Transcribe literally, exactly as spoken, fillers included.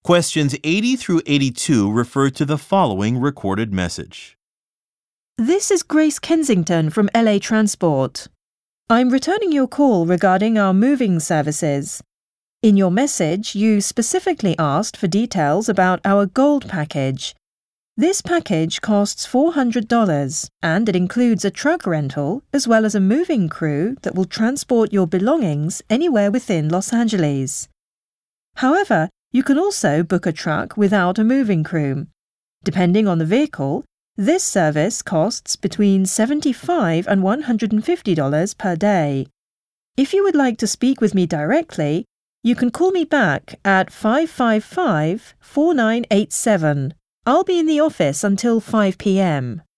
Questions eighty through eighty-two refer to the following recorded message. This is Grace Kensington from L A Transport. I'm returning your call regarding our moving services. In your message, you specifically asked for details about our Gold package. This package costs four hundred dollars and it includes a truck rental as well as a moving crew that will transport your belongings anywhere within Los Angeles. However, you can also book a truck without a moving crew. Depending on the vehicle, this service costs between seventy-five dollars and one hundred fifty dollars per day. If you would like to speak with me directly, you can call me back at five five five, four nine eight seven. I'll be in the office until five p m